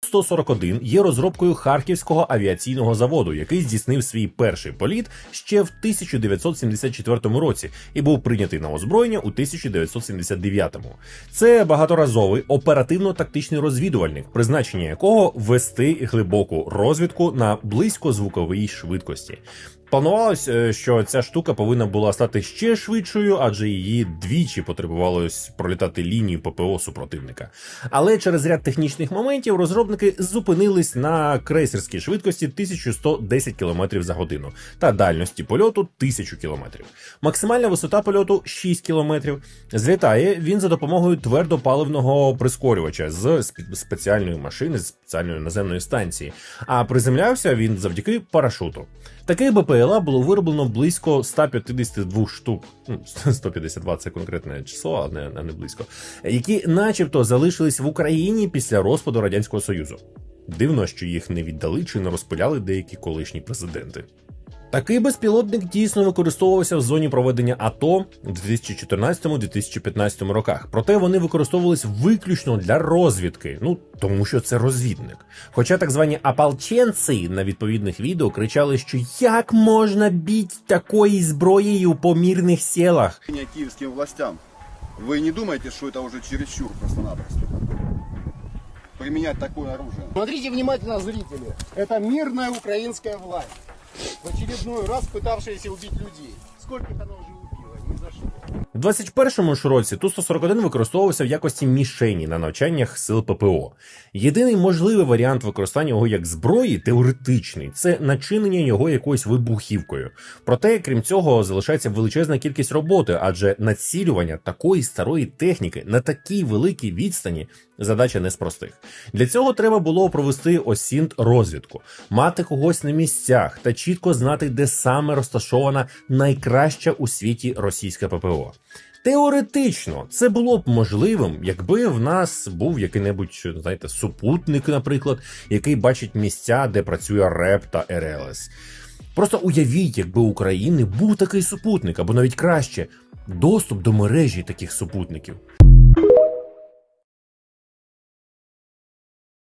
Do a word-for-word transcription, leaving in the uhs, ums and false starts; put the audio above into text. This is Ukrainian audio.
сто сорок один є розробкою Харківського авіаційного заводу, який здійснив свій перший політ ще в тисяча дев'ятсот сімдесят четвертому році і був прийнятий на озброєння у тисяча дев'ятсот сімдесят дев'ятому. Це багаторазовий оперативно-тактичний розвідувальник, призначення якого вести глибоку розвідку на близькозвуковій швидкості. Планувалось, що ця штука повинна була стати ще швидшою, адже її двічі потребувалось пролітати лінію ППО супротивника. Але через ряд технічних моментів розробники зупинились на крейсерській швидкості тисяча сто десять кілометрів за годину та дальності польоту тисячу кілометрів. Максимальна висота польоту шість кілометрів. Злітає він за допомогою твердопаливного прискорювача з спеціальної машини, з спеціальної наземної станції. А приземлявся він завдяки парашуту. Таких БПЛА було вироблено близько ста п'ятдесяти двох штук, ну, сто п'ятдесят два це конкретне число, а не, а не близько, які начебто залишились в Україні після розпаду Радянського Союзу. Дивно, що їх не віддали чи не розпиляли деякі колишні президенти. Такий безпілотник дійсно використовувався в зоні проведення АТО у дві тисячі чотирнадцятому - дві тисячі п'ятнадцятому роках. Проте вони використовувались виключно для розвідки, ну, тому що це розвідник. Хоча так звані ополченці на відповідних відео кричали, що як можна бити такою зброєю по мирних селах. Київським властям, ви не думаєте, що це вже чересчур просто-напросто? Применять такое оружие. Смотрите внимательно, зрители. Это мирная украинская власть, в очередной раз пытавшаяся убить людей. Сколько она уже убила? Ни за что. У двадцять першому ж році Ту сто сорок один використовувався в якості мішені на навчаннях сил ППО. Єдиний можливий варіант використання його як зброї, теоретичний, це начинення його якоюсь вибухівкою. Проте, крім цього, залишається величезна кількість роботи, адже націлювання такої старої техніки на такій великій відстані задача не з простих. Для цього треба було провести осінт-розвідку, мати когось на місцях та чітко знати, де саме розташована найкраща у світі російська ППО. Теоретично, це було б можливим, якби в нас був який-небудь, знаєте, супутник, наприклад, який бачить місця, де працює РЕП та РЛС. Просто уявіть, якби у України був такий супутник, або навіть краще, доступ до мережі таких супутників.